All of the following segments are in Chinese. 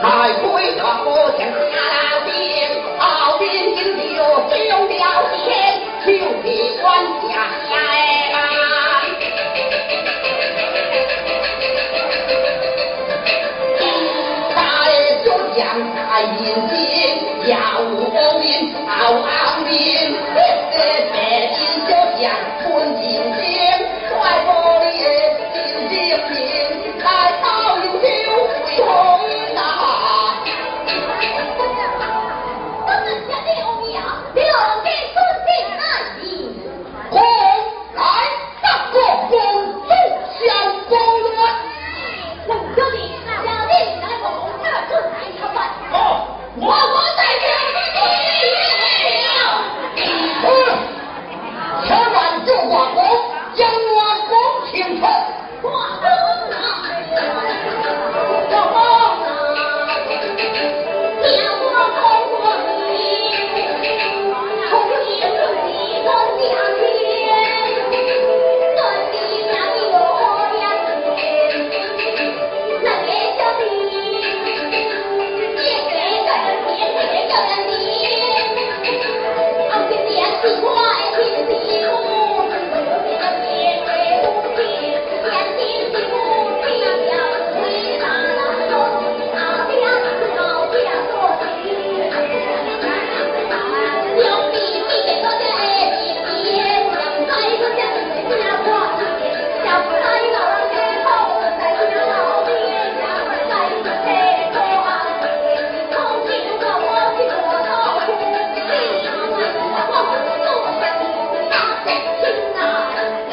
来回大我向下边，后边金条中了天，就地管家来。大就将大银金，要无名好昂名，这白金就将吞金金，快玻璃金金金，开刀有酒会红啊！ 我们家的欧阳，六给尊敬爱你。 红来大国公主相公论。 龙兄弟，小弟来我红这尊来朝拜。 哦，我在千万救寡公，将我公请出。 寡公啊， 寡公， 叫我公公你，从今你我家天，尊你家有两天，能给小弟，也给个人天，给个人你，俺这点是快听地母，我有这个天为不平，点心地母听了回答了说，阿爹是老爹做的，有比你给我的一天，再说家里家话，小孩老人之后再说老爹呀，再说这个啊，从今我去我到处，我不做下你大亲啊，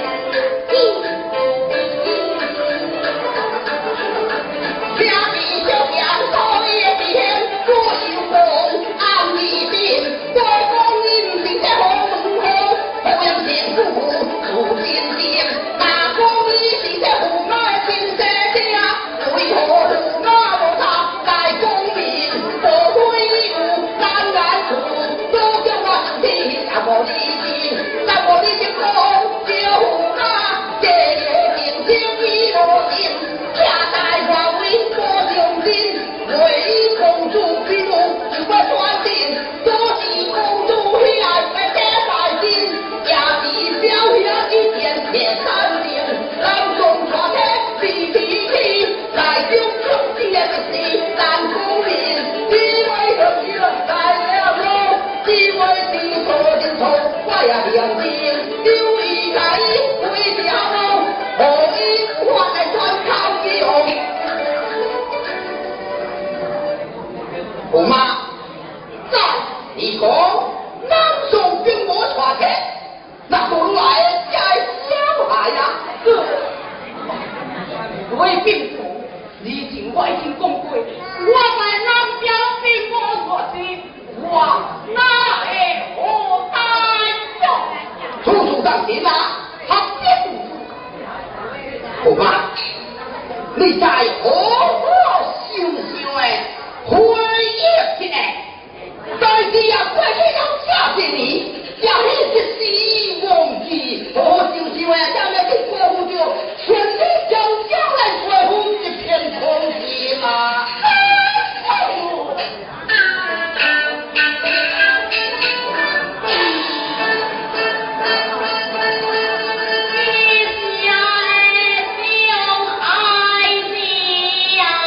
家里就像高野边，左手红，暗里边，国公应请在红门后，后阳见父母出金殿，大公一请在胡马进山家，为何胡马不他来公民，不归义务难难处，都叫我兄弟让我理性，让我理性公就胡马，这夜定睛一落定，家代华为多用心，为公主披露不传信，多是公主喜爱被给百姓，家地小下一点铁三定，老中传的地地气，来就兄弟的是难公民，几位同学来了喽，几位地错的错，我也良心，丢一改回家喽，何以我来传靠用？胡妈，在你讲南宋兵魔传的，那本来在小孩呀，为兵符，你请外姓公贵，我在南边兵魔我的，我哪会何待哟？处处当心啊，他兵胡妈，你在何处想想诶？回忆起来，但是也怪这种下些你，也一直是忘记，我想想诶，咱们的国父就全力将将来恢复一片空气嘛。 你家的小孩子呀。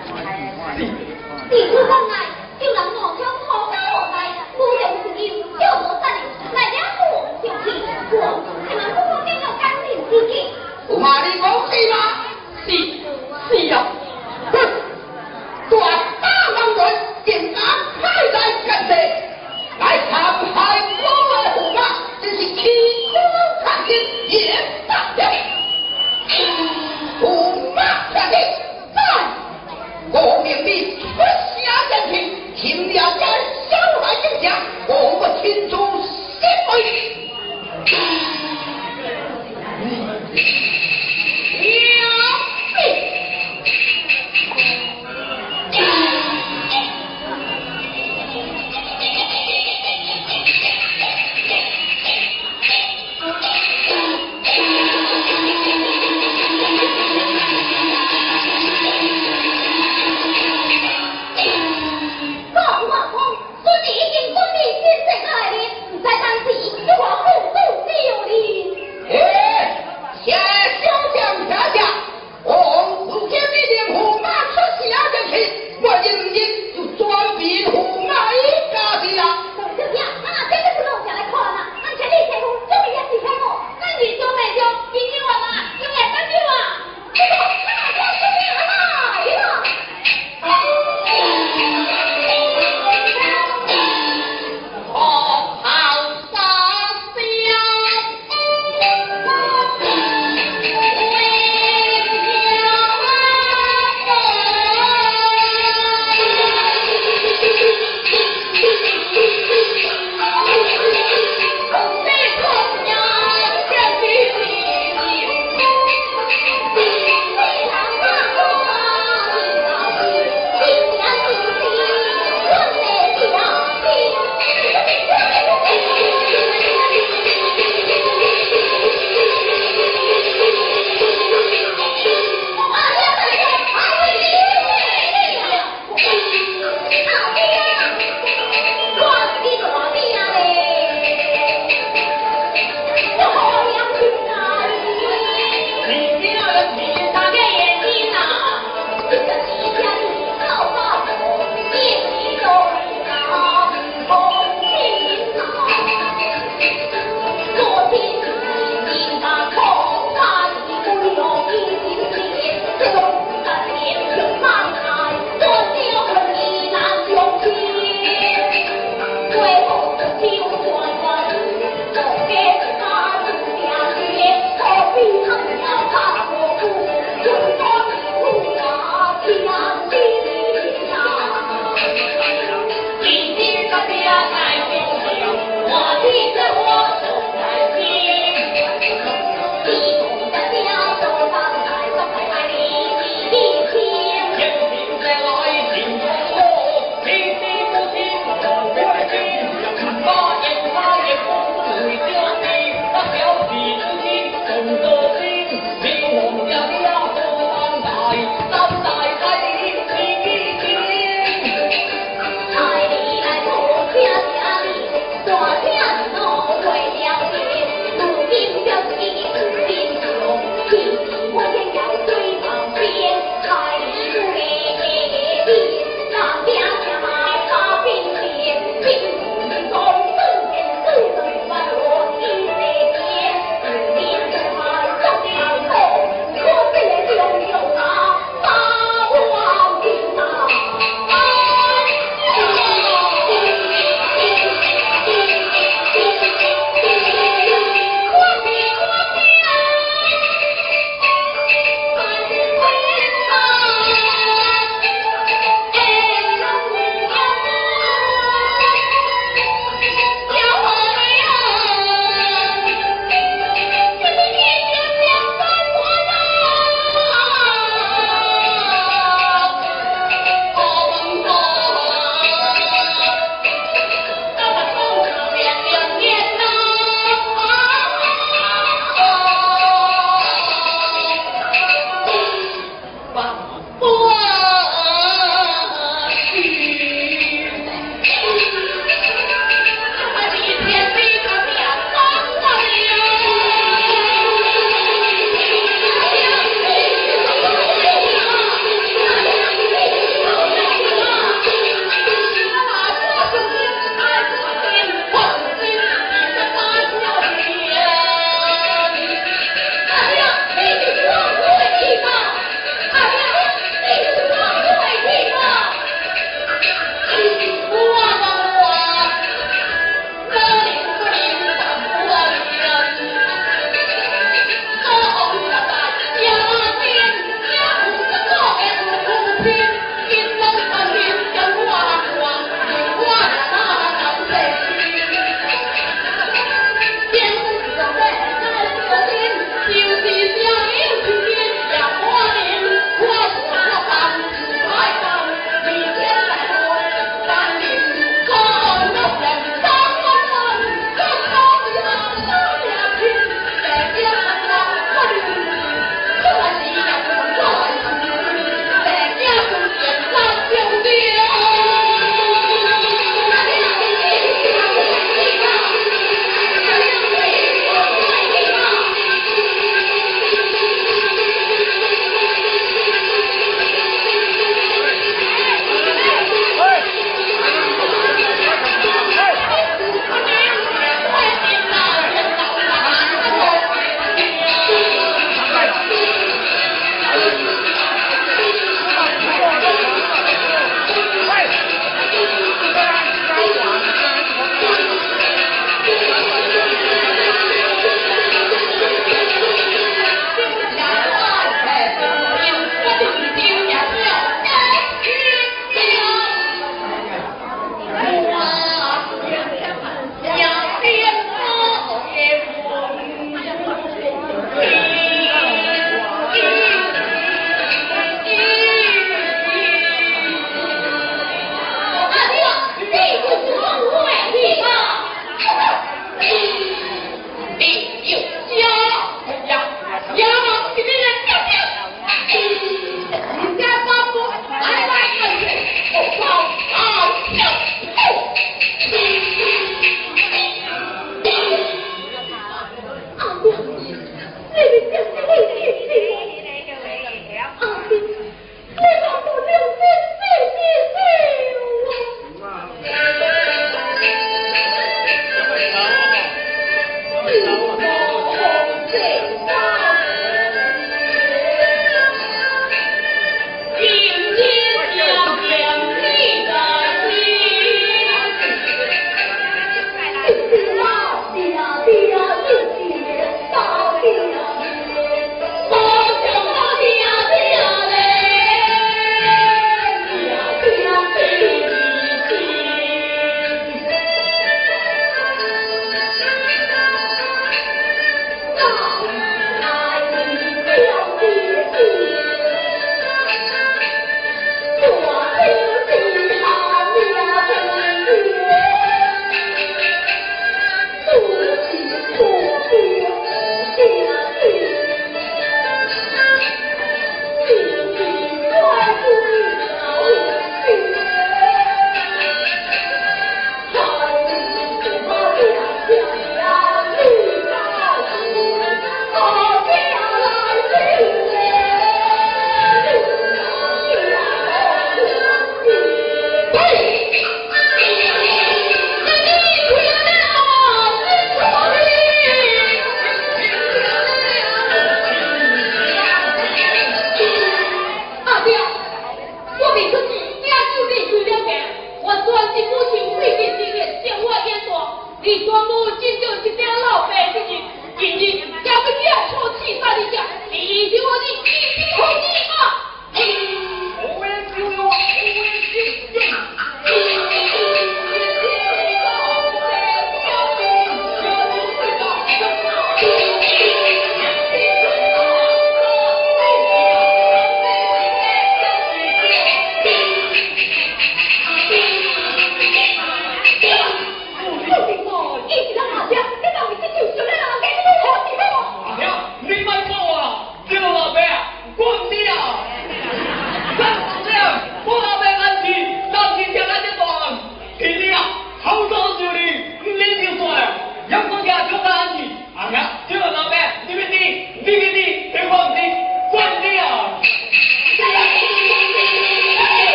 弟子往来，就让我将好